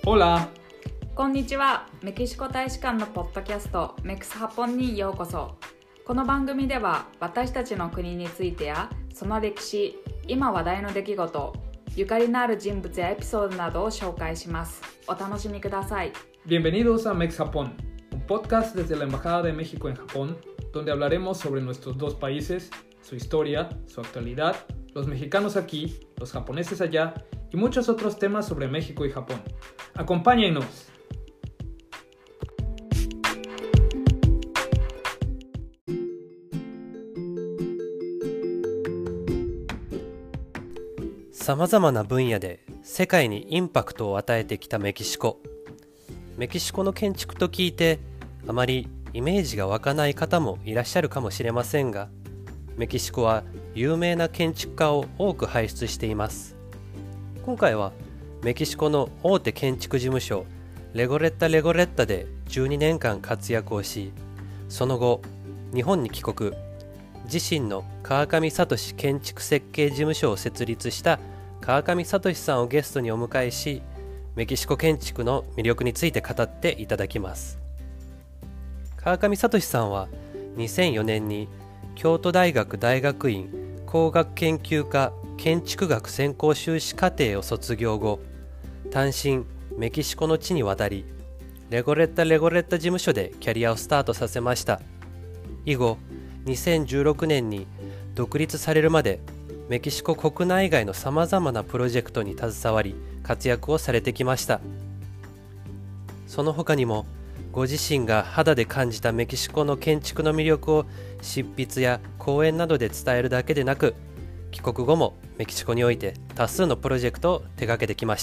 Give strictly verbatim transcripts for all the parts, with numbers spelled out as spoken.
Hola! こんにちは。メキシコ大使館のポッドキャストメクスハポンにようこそ。この番組では私たちの国についてやその歴史、今話題の出来事、ゆかりのある人物やエピソードなどを紹介します。お楽しみください。 Bienvenidos a Mex Japón, un podcast desde la Embajada de México en Japón, donde hablaremos sobre nuestros dos países, su historia, su actualidad, los mexicanos aquí, los japoneses allá y muchos otros temas sobre México y Japón. ¡Acompáñenos! さまざまな分野で世界にインパクトを与えてきたメキシコ。メキシコの建築と聞いてあまりイメージが湧かない方もいらっしゃるかもしれませんが、メキシコは有名な建築家を多く輩出しています。今回はメキシコの大手建築事務所レゴレッタ・レゴレッタでじゅうにねんかん活躍をし、その後日本に帰国、自身の川上聡建築設計事務所を設立した川上聡さんをゲストにお迎えし、メキシコ建築の魅力について語っていただきます。川上聡さんはにせんよねんに京都大学大学院工学研究科建築学専攻修士課程を卒業後、単身メキシコの地に渡り、レゴレッタ・レゴレッタ事務所でキャリアをスタートさせました。以後にせんじゅうろくねんに独立されるまでメキシコ国内外のさまざまなプロジェクトに携わり活躍をされてきました。その他にもご自身が肌で感じたメキシコの建築の魅力を執筆や講演などで伝えるだけでなく、帰国後もメキシコにおいて多数のプロジェクトを手掛けてきました。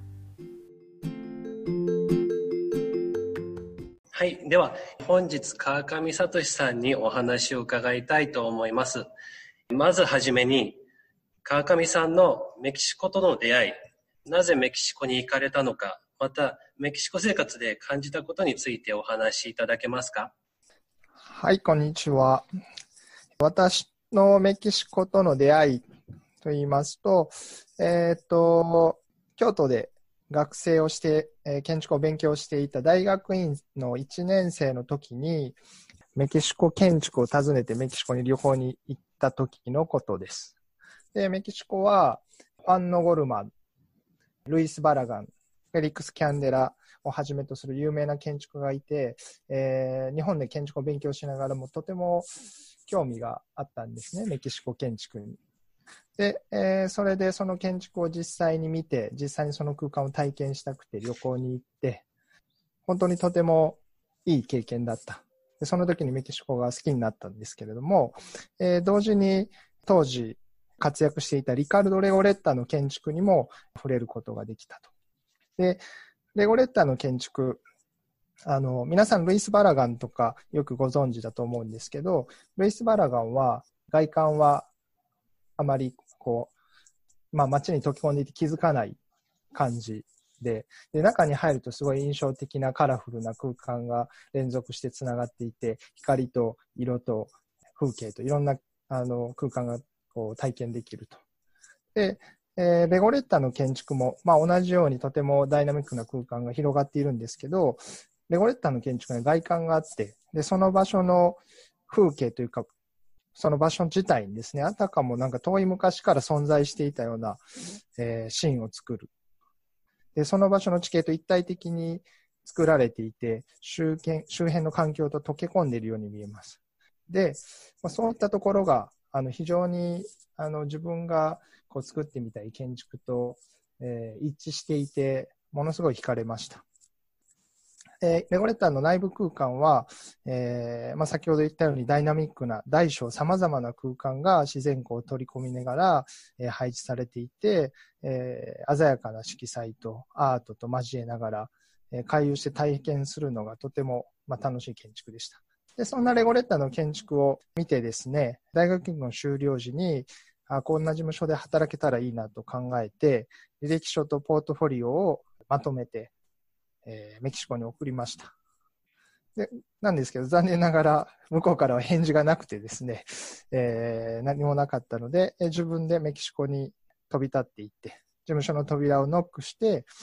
はい、では本日川上聡さんにお話を伺いたいと思います。まずはじめに、川上さんのメキシコとの出会い、なぜメキシコに行かれたのか、またメキシコ生活で感じたことについてお話しいただけますか？ はい、こんにちは。私のメキシコとの出会いといいますと、えっと、京都で学生をして、えー、建築を勉強していた大学院のいちねん生の時に、メキシコ建築を訪ねてメキシコに旅行に行った時のことです。で、メキシコは、ファン・ノゴルマン、ルイス・バラガン、フェリックス・キャンデラをはじめとする有名な建築家がいて、えー、日本で建築を勉強しながらもとても興味があったんですね、メキシコ建築に。で、えー、それでその建築を実際に見て、実際にその空間を体験したくて旅行に行って、本当にとてもいい経験だった。で、その時にメキシコが好きになったんですけれども、えー、同時に当時活躍していたリカルド・レゴレッタの建築にも触れることができたと。で、レゴレッタの建築、あの、皆さんルイス・バラガンとかよくご存知だと思うんですけど、ルイス・バラガンは外観はあまりこう、まあ街に溶け込んでいて気づかない感じで、で、中に入るとすごい印象的なカラフルな空間が連続してつながっていて、光と色と風景といろんなあの空間がこう体験できると。で、えー、レゴレッタの建築も、まあ、同じようにとてもダイナミックな空間が広がっているんですけど、レゴレッタの建築に外観があって、で、その場所の風景というか、その場所自体にですね、あたかもなんか遠い昔から存在していたような、えー、シーンを作る。で、その場所の地形と一体的に作られていて、周辺、周辺の環境と溶け込んでいるように見えます。で、まあ、そういったところが、あの、非常に、あの、自分がこう作ってみたい建築と、えー、一致していて、ものすごい惹かれました。えー、レゴレッタの内部空間は、えーまあ、先ほど言ったようにダイナミックな大小様々な空間が自然光を取り込みながら、えー、配置されていて、えー、鮮やかな色彩とアートと交えながら、えー、回遊して体験するのがとても、まあ、楽しい建築でした。で、そんなレゴレッタの建築を見てですね、大学院の修了時に、あ、こんな事務所で働けたらいいなと考えて、履歴書とポートフォリオをまとめて、えー、メキシコに送りました。で、なんですけど、残念ながら向こうからは返事がなくてですね、えー、何もなかったので、自分でメキシコに飛び立っていって、事務所の扉をノックして、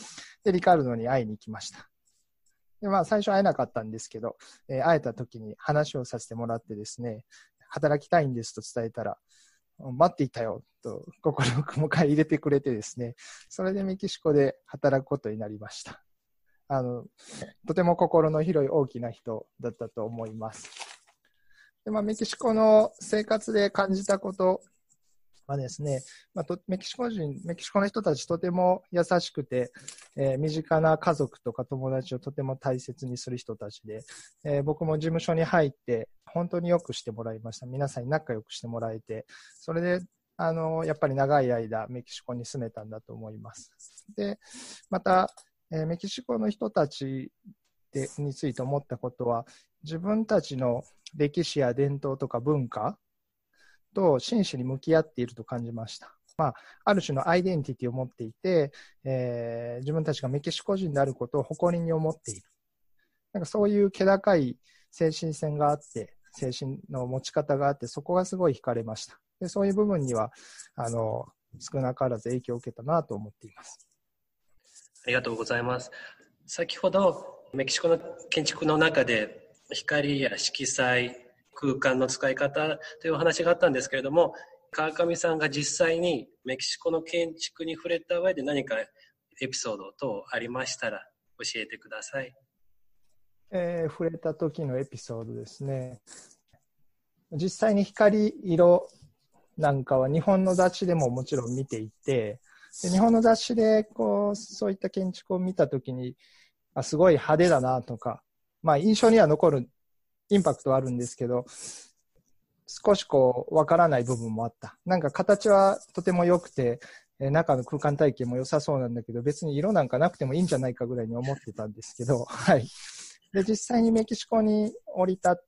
で、リカルドに会いに行きました。で、まあ、最初会えなかったんですけど、えー、会えた時に話をさせてもらってですね、働きたいんですと伝えたら、待っていたよと心を迎え入れてくれてですね、それでメキシコで働くことになりました。あの、とても心の広い大きな人だったと思います。で、まあ、メキシコの生活で感じたことはですね、まあ、とメキシコ人、メキシコの人たちとても優しくて、えー、身近な家族とか友達をとても大切にする人たちで、えー、僕も事務所に入って本当によくしてもらいました。皆さんに仲良くしてもらえて、それであのやっぱり長い間メキシコに住めたんだと思います。で、また、えー、メキシコの人たちでについて思ったことは、自分たちの歴史や伝統とか文化と真摯に向き合っていると感じました。まあ、ある種のアイデンティティを持っていて、えー、自分たちがメキシコ人であることを誇りに思っている。なんかそういう気高い精神性があって、精神の持ち方があって、そこがすごい惹かれました。で、そういう部分には、あの、少なからず影響を受けたなと思っています。 ありがとうございます。先ほど、メキシコの建築の中で、光や色彩、空間の使い方というお話があったんですけれども、川上さんが実際にメキシコの建築に触れた上で何かエピソード等ありましたら教えてください。 えー、触れた時のエピソードですね。実際に光、色なんかは日本の雑誌でももちろん見ていて、で日本の雑誌でこうそういった建築を見た時に、あ、すごい派手だなとか、まあ印象には残るインパクトはあるんですけど、少しこう、わからない部分もあった。なんか形はとても良くて、え中の空間体験も良さそうなんだけど、別に色なんかなくてもいいんじゃないかぐらいに思ってたんですけど、はい。で、実際にメキシコに降り立って、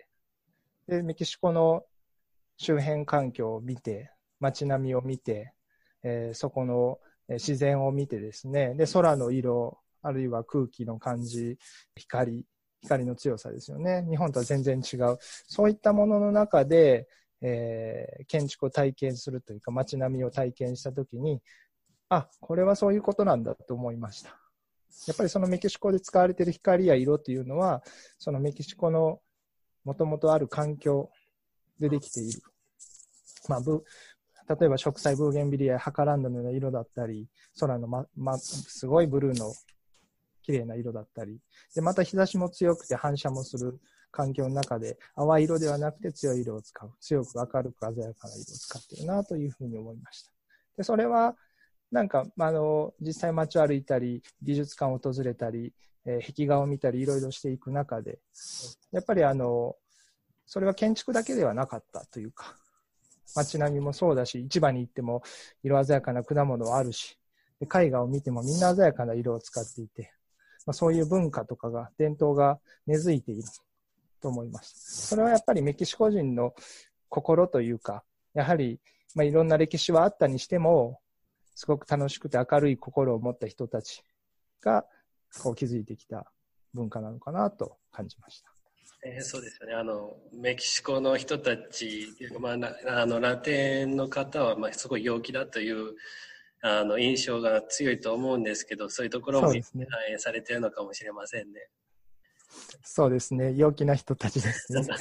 で、メキシコの周辺環境を見て、街並みを見て、えー、そこの自然を見てですね、で、空の色、あるいは空気の感じ、光、光の強さですよね。日本とは全然違う。そういったものの中で、えー、建築を体験するというか、街並みを体験したときに、あ、これはそういうことなんだと思いました。やっぱりそのメキシコで使われている光や色というのは、そのメキシコのもともとある環境でできている。まあ、ブ例えば植栽ブーゲンビリアやハカランドのような色だったり、空の、まま、すごいブルーの綺麗な色だったり、でまた日差しも強くて反射もする環境の中で淡い色ではなくて強い色を使う、強く明るく鮮やかな色を使っているなというふうに思いました。でそれはなんかあの実際街を歩いたり美術館を訪れたり、えー、壁画を見たりいろいろしていく中でやっぱりあのそれは建築だけではなかったというか、街並みもそうだし、市場に行っても色鮮やかな果物はあるし、で絵画を見てもみんな鮮やかな色を使っていて、まあ、そういう文化とかが伝統が根付いていると思います。それはやっぱりメキシコ人の心というか、やはり、まあ、いろんな歴史はあったにしてもすごく楽しくて明るい心を持った人たちがこう築いてきた文化なのかなと感じました。 えー、そうですよね。あのメキシコの人たち、まあ、あのラテンの方はまあすごい陽気だというあの印象が強いと思うんですけど、そういうところも反映されているのかもしれませんね。 そうですね。陽気な人たちですね。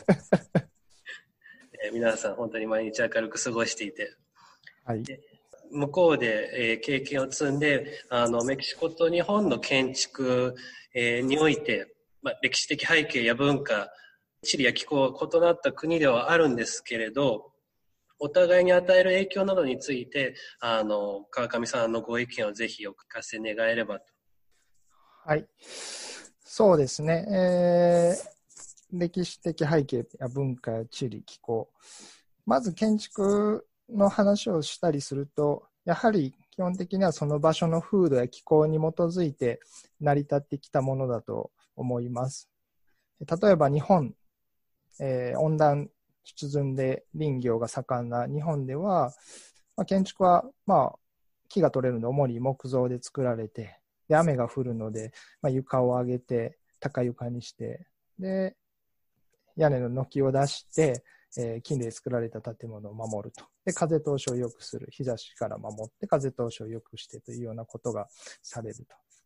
えー、皆さん本当に毎日明るく過ごしていて、 はい、 向こうで、えー、経験を積んで、あのメキシコと日本の建築、えー、において、まあ、歴史的背景や文化、地理や気候異なった国ではあるんですけれど、お互いに与える影響などについて、あの川上さんのご意見をぜひお聞かせ願えればと。 はい、そうですね、えー、歴史的背景や文化や地理気候、まず建築の話をしたりすると、やはり基本的にはその場所の風土や気候に基づいて成り立ってきたものだと思います。例えば日本、えー、温暖湿潤で林業が盛んな日本では、まあ、建築は、まあ、木が取れるので主に木造で作られて、で雨が降るので、まあ、床を上げて高床にして、で屋根の軒を出して、えー、木で作られた建物を守ると。で風通しを良くする、日差しから守って風通しを良くしてというようなことがされると。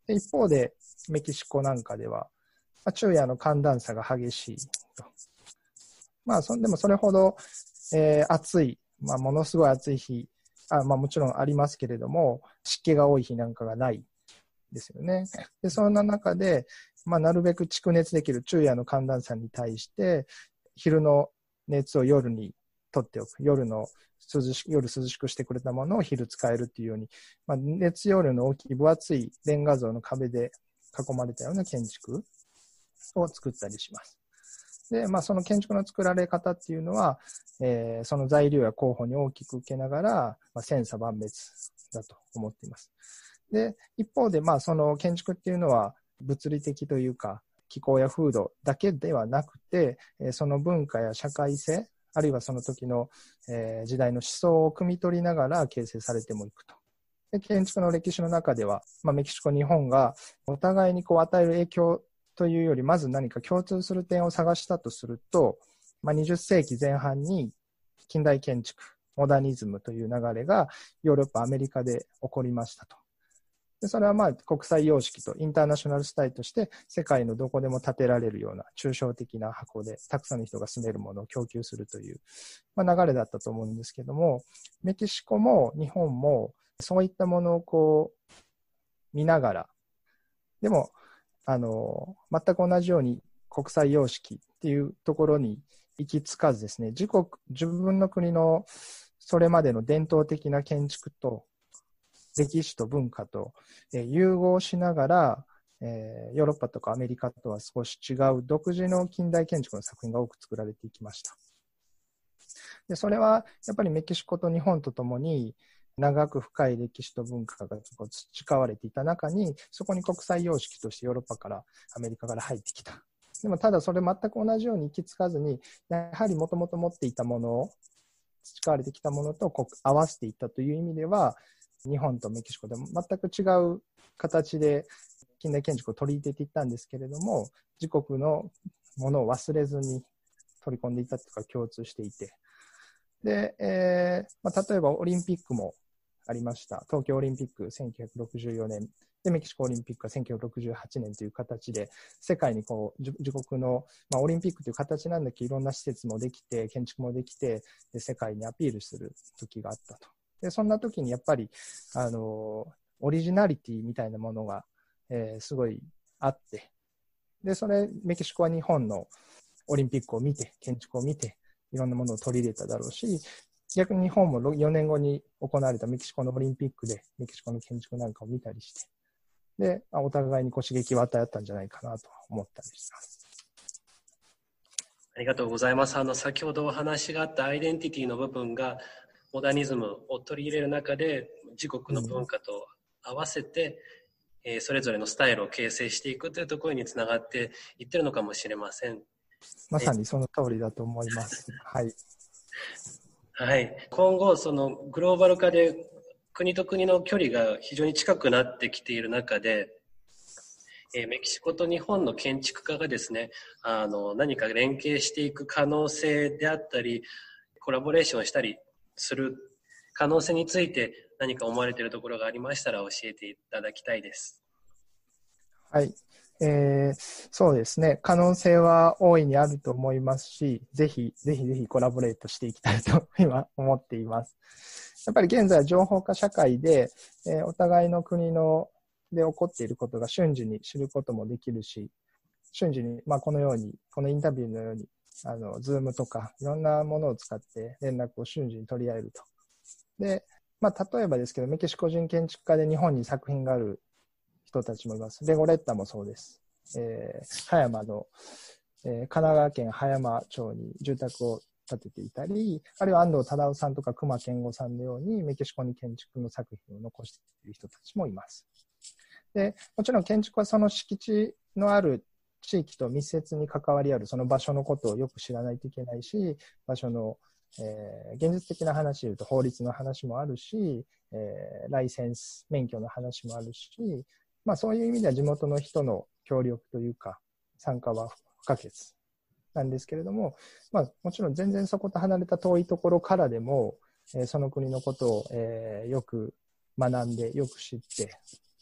で一方でメキシコなんかでは、まあ、昼夜の寒暖差が激しいと。まあそでもそれほど、えー、暑い、まあ、ものすごい暑い日、あまあ、もちろんありますけれども、湿気が多い日なんかがないですよね。でそんな中で、まあ、なるべく蓄熱できる昼夜の寒暖差に対して、昼の熱を夜に取っておく。夜の涼し夜涼しくしてくれたものを昼使えるっていうように、まあ、熱容量の大きい分厚いレンガ像の壁で囲まれたような建築を作ったりします。で、まあ、その建築の作られ方っていうのは、えー、その材料や候補に大きく受けながら、まあ、千差万別だと思っています。で、一方で、まあ、その建築っていうのは物理的というか、気候や風土だけではなくて、その文化や社会性、あるいはその時の時代の思想を汲み取りながら形成されてもいくと。で建築の歴史の中では、まあ、メキシコ、日本がお互いにこう与える影響というより、まず何か共通する点を探したとすると、まあ、にじゅっせいきぜん半に近代建築、モダニズムという流れがヨーロッパ、アメリカで起こりましたと。でそれはまあ国際様式とインターナショナルスタイルとして世界のどこでも建てられるような抽象的な箱でたくさんの人が住めるものを供給するという、まあ、流れだったと思うんですけども、メキシコも日本もそういったものをこう見ながら、でもあの全く同じように国際様式っていうところに行き着かずですね、自国自分の国のそれまでの伝統的な建築と歴史と文化と、えー、融合しながら、えー、ヨーロッパとかアメリカとは少し違う独自の近代建築の作品が多く作られていきました。でそれはやっぱりメキシコと日本とともに長く深い歴史と文化が培われていた中に、そこに国際様式としてヨーロッパからアメリカから入ってきた。でもただそれ全く同じように行き着かずに、やはりもともと持っていたものを、培われてきたものとこう合わせていったという意味では、日本とメキシコでも全く違う形で近代建築を取り入れていったんですけれども、自国のものを忘れずに取り込んでいたというか共通していて、で、えーまあ、例えばオリンピックもありました。東京オリンピックせんきゅうひゃくろくじゅうよねんで、メキシコオリンピックはせんきゅうひゃくろくじゅうはちねんという形で世界にこう 自, 自国の、まあ、オリンピックという形なんだけどいろんな施設もできて建築もできて、で世界にアピールする時があったと。でそんな時にやっぱりあのオリジナリティみたいなものが、えー、すごいあって、でそれメキシコは日本のオリンピックを見て建築を見ていろんなものを取り入れただろうし、逆に日本もよねんごに行われたメキシコのオリンピックでメキシコの建築なんかを見たりして、でお互いにこう刺激を与えたんじゃないかなと思ったりします。 ありがとうございます。あの先ほどお話があったアイデンティティの部分がモダニズムを取り入れる中で自国の文化と合わせて、うん、えー、それぞれのスタイルを形成していくというところにつながっていってるのかもしれません。 まさにその通りだと思います。はい。 はい。今後そのグローバル化で国と国の距離が非常に近くなってきている中で、えー、メキシコと日本の建築家がですね、あの何か連携していく可能性であったり、コラボレーションしたりする可能性について何か思われているところがありましたら教えていただきたいです。 はい、えー、そうですね。可能性は大いにあると思いますし、ぜひぜひぜひコラボレートしていきたいと今思っています。やっぱり現在は情報化社会で、えー、お互いの国ので起こっていることが瞬時に知ることもできるし、瞬時に、まあ、このようにこのインタビューのようにあの、ズームとかいろんなものを使って連絡を瞬時に取り合えると。で、まあ、例えばですけど、メキシコ人建築家で日本に作品がある人たちもいます。レゴレッタもそうです。えー、葉山の、えー、神奈川県葉山町に住宅を建てていたり、あるいは安藤忠雄さんとか隈研吾さんのようにメキシコに建築の作品を残している人たちもいます。で、もちろん建築はその敷地のある地域と密接に関わりあるその場所のことをよく知らないといけないし、場所の、えー、現実的な話でいうと法律の話もあるし、えー、ライセンス免許の話もあるし、まあ、そういう意味では地元の人の協力というか参加は不可欠なんですけれども、まあ、もちろん全然そこと離れた遠いところからでも、えー、その国のことを、えー、よく学んでよく知って、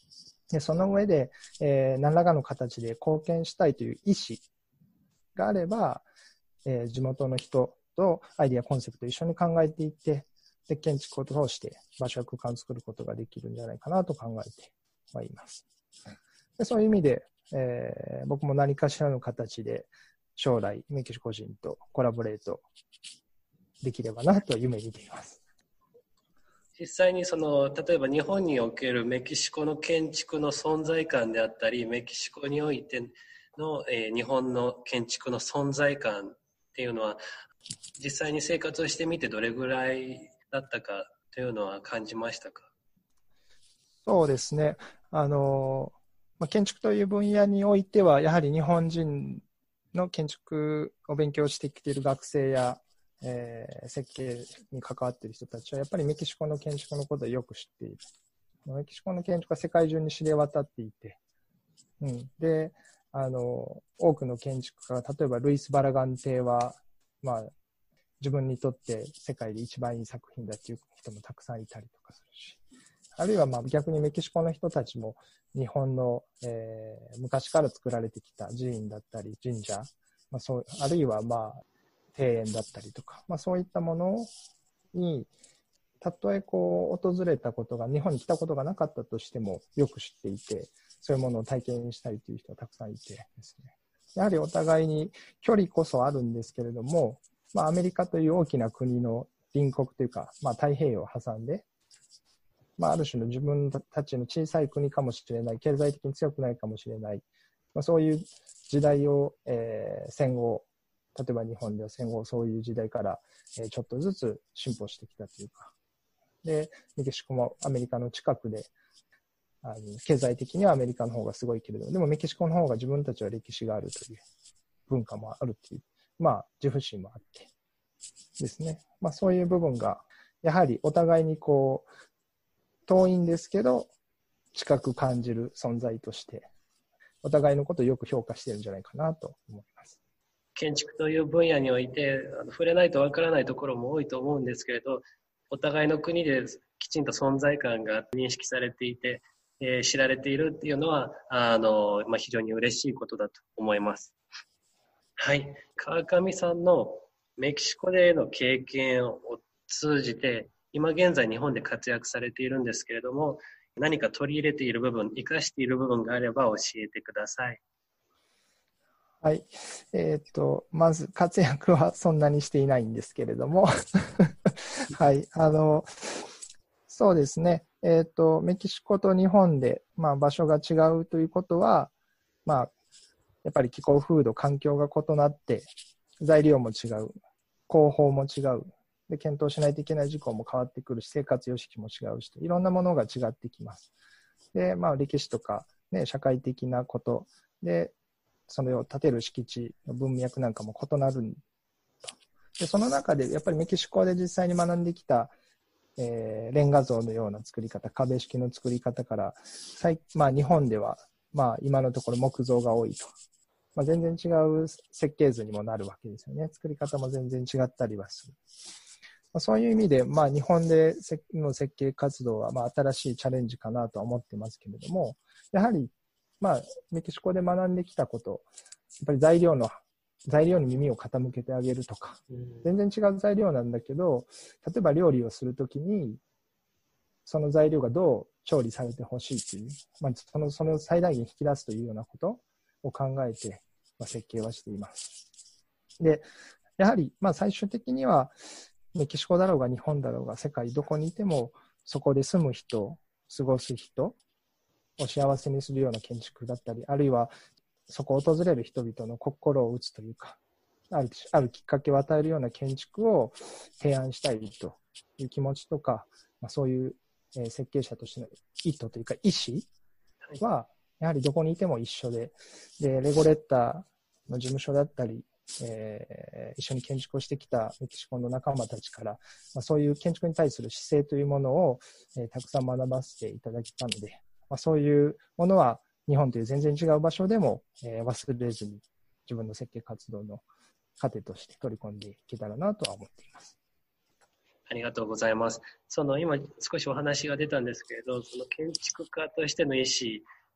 でその上で、えー、何らかの形で貢献したいという意思があれば、えー、地元の人とアイディア、コンセプトを一緒に考えていって、で建築を通して場所や空間を作ることができるんじゃないかなと考えてはいます。でそういう意味で、えー、僕も何かしらの形で将来メキシコ人とコラボレートできればなと夢見ています。 実際にその例えば日本におけるメキシコの建築の存在感であったり、メキシコにおいての、えー、日本の建築の存在感っていうのは実際に生活をしてみてどれぐらいだったかというのは感じましたか？ そうですね。あの、まあ、建築という分野においてはやはり日本人の建築を勉強してきている学生やえー、設計に関わっている人たちはやっぱりメキシコの建築のことをよく知っている。メキシコの建築は世界中に知れ渡っていて、うん、で、あの、多くの建築家、例えばルイス・バラガン邸は、まあ、自分にとって世界で一番いい作品だっていう人もたくさんいたりとかするし、あるいはまあ逆にメキシコの人たちも日本の、えー、昔から作られてきた寺院だったり神社、まあ、そうあるいはまあ庭園だったりとか、まあ、そういったものにたとえこう訪れたことが日本に来たことがなかったとしてもよく知っていて、そういうものを体験したいという人がたくさんいてですね、やはりお互いに距離こそあるんですけれども、まあ、アメリカという大きな国の隣国というか、まあ、太平洋を挟んで、まあ、ある種の自分たちの小さい国かもしれない、経済的に強くないかもしれない、まあ、そういう時代を、えー、戦後、例えば日本では戦後そういう時代から、えー、ちょっとずつ進歩してきたというか、でメキシコもアメリカの近くで、あの経済的にはアメリカの方がすごいけれど、でもメキシコの方が自分たちは歴史があるという文化もあるという、まあ自負心もあってですね、まあそういう部分がやはりお互いにこう遠いんですけど近く感じる存在としてお互いのことをよく評価しているんじゃないかなと思います。 建築という分野において触れないとわからないところも多いと思うんですけれど、お互いの国できちんと存在感が認識されていて、えー、知られているっていうのはあの、まあ、非常に嬉しいことだと思います。はい、川上さんのメキシコでの経験を通じて今現在日本で活躍されているんですけれども、何か取り入れている部分、生かしている部分があれば教えてください。 はい。えっと、まず活躍はそんなにしていないんですけれども、はい。あの、そうですね。えっと、メキシコと日本で、まあ、場所が違うということは、まあ、やっぱり気候風土、環境が異なって、材料も違う、工法も違う、で、検討しないといけない事項も変わってくるし、生活様式も違うし、いろんなものが違ってきます。で、まあ、歴史とか、ね、社会的なことで、それを建てる敷地の文脈なんかも異なると。で、その中で、やっぱりメキシコで実際に学んできた、えー、レンガ像のような作り方、壁式の作り方から、まあ、日本では、まあ、今のところ木造が多いと。まあ、全然違う設計図にもなるわけですよね。作り方も全然違ったりはする。まあ、そういう意味で、まあ、日本での設計活動は、まあ、新しいチャレンジかなとは思ってますけれども、やはり、まあ、メキシコで学んできたこと、やっぱり材料の、材料に耳を傾けてあげるとか、全然違う材料なんだけど、例えば料理をするときに、その材料がどう調理されてほしいという、まあ、その、その最大限引き出すというようなことを考えて、まあ、設計はしています。で、やはり、まあ、最終的には、メキシコだろうが日本だろうが世界どこにいてもそこで住む人、過ごす人を幸せにするような建築だったり、あるいはそこを訪れる人々の心を打つというか、ある、あるきっかけを与えるような建築を提案したいという気持ちとか、まあ、そういう、えー、設計者としての意図というか意思はやはりどこにいても一緒で、で、レゴレッタの事務所だったり、えー、一緒に建築をしてきたメキシコの仲間たちから、まあ、そういう建築に対する姿勢というものを、えー、たくさん学ばせていただきたので、まあ、そういうものは日本という全然違う場所でも、えー、忘れずに自分の設計活動の糧として取り込んでいけたらなとは思っています。 ありがとうございます。その今少しお話が出たんですけれど、その建築家としての意思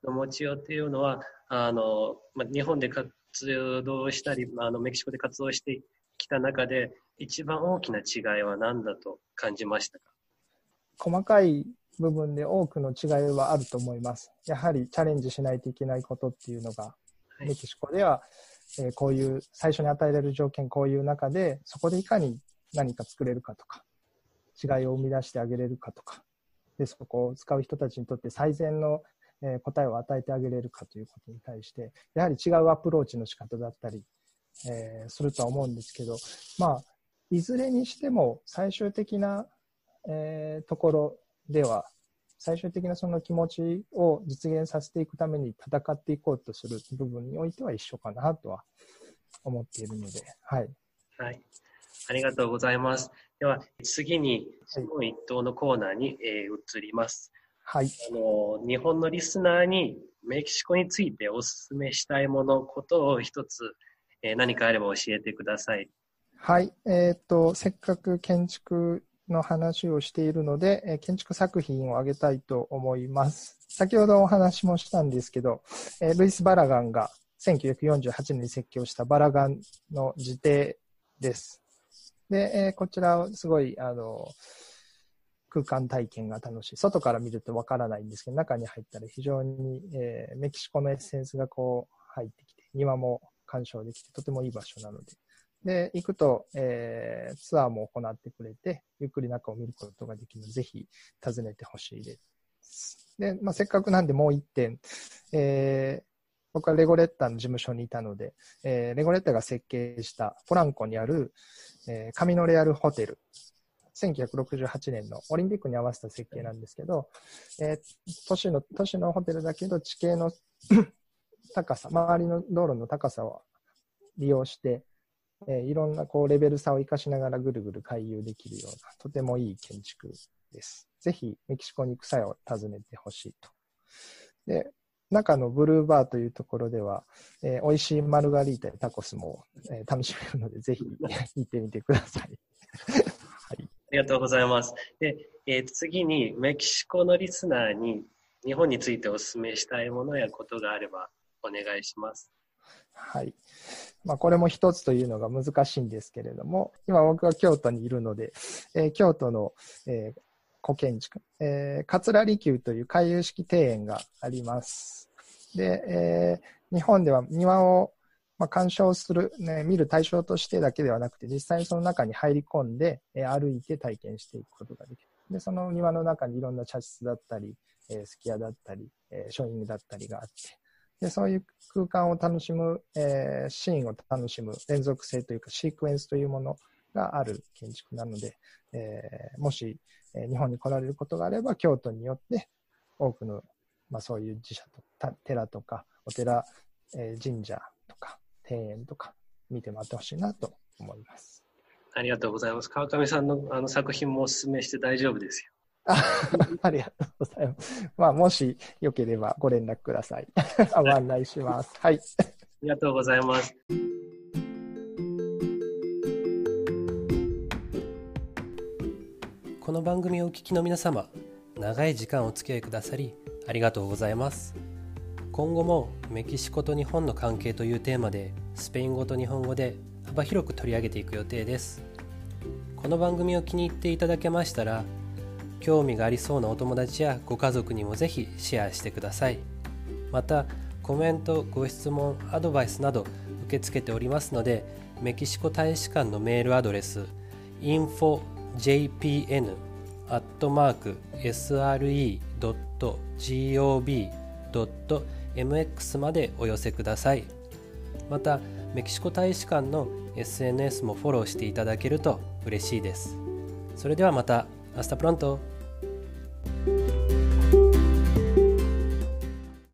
の持ちようというのは、あの、まあ、日本で活動したり、あのメキシコで活動してきた中で、一番大きな違いは何だと感じましたか？ 細かい部分で多くの違いはあると思います。やはりチャレンジしないといけないことっていうのが、はい、メキシコでは、えー、こういう最初に与えられる条件、こういう中で、そこでいかに何か作れるかとか、違いを生み出してあげれるかとか、でそこを使う人たちにとって最善のえー、答えを与えてあげれるかということに対して、やはり違うアプローチの仕方だったり、えー、するとは思うんですけど、まあ、いずれにしても最終的な、えー、ところでは、最終的なその気持ちを実現させていくために戦っていこうとする部分においては一緒かなとは思っているので、はい。 はい。ありがとうございます。では、次に、質問一答のコーナーに、えー、移ります。 はい、 あの日本のリスナーにメキシコについてお勧めしたいもの、ことを一つ、えー、何かあれば教えてください。 はい、えー、っと、せっかく建築の話をしているので、えー、建築作品を挙げたいと思います。先ほどお話もしたんですけど、えー、ルイス・バラガンがせんきゅうひゃくよんじゅうはちねんに設計をしたバラガンの自邸です。で、えー、こちらすごい、あの、空間体験が楽しい。外から見るとわからないんですけど、中に入ったら非常に、えー、メキシコのエッセンスがこう入ってきて、庭も鑑賞できて、とてもいい場所なので。で、行くと、えー、ツアーも行ってくれて、ゆっくり中を見ることができるので、ぜひ訪ねてほしいです。で、まあ、せっかくなんでもう一点、えー、僕はレゴレッタの事務所にいたので、えー、レゴレッタが設計したポランコにある、えー、カミノレアルホテル。せんきゅうひゃくろくじゅうはちねんのオリンピックに合わせた設計なんですけど、えー、都市の、都市のホテルだけど地形の高さ、周りの道路の高さを利用して、えー、いろんなこうレベル差を生かしながらぐるぐる回遊できるような、とてもいい建築です。ぜひメキシコに行く際を訪ねてほしいと。で、中のブルーバーというところでは、えー、美味しいマルガリータやタコスも、えー、楽しめるので、ぜひ行ってみてください。はい。 ありがとうございます。で、えー、次にメキシコのリスナーに日本についてお勧めしたいものやことがあればお願いします。 はい。まあ、これも一つというのが難しいんですけれども、今僕は京都にいるので、えー、京都の、えー、古建築、えー、桂離宮という回遊式庭園があります。で、えー、日本では庭をまあ、鑑賞する、ね、見る対象としてだけではなくて、実際にその中に入り込んで、えー、歩いて体験していくことができる。で、その庭の中にいろんな茶室だったり、えー、すき家だったり、えー、ショーイングだったりがあって、で、そういう空間を楽しむ、えー、シーンを楽しむ連続性というかシークエンスというものがある建築なので、えー、もし、えー、日本に来られることがあれば、京都によって多くの、まあ、そういう寺社とか、寺とか、お寺、えー、神社とか、庭園とか見て回ってほしいなと思います。 ありがとうございます。川上さんのあの作品もお勧めして大丈夫ですよ。 あ, ありがとうございます。まあ、もしよければご連絡ください。ご案内します。はい。 ありがとうございます。 この番組をお聞きの皆様、長い時間お付き合いくださりありがとうございます。今後もメキシコと日本の関係というテーマでスペイン語と日本語で幅広く取り上げていく予定です。この番組を気に入っていただけましたら、興味がありそうなお友達やご家族にもぜひシェアしてください。またコメント、ご質問、アドバイスなど受け付けておりますので、メキシコ大使館のメールアドレス インフォジェイピーエヌ アットマーク エスアールイー ドット ジーオービー ドット エムエックス までお寄せください。またメキシコ大使館の エスエヌエス もフォローしていただけると嬉しいです。それではまた。Hasta pronto.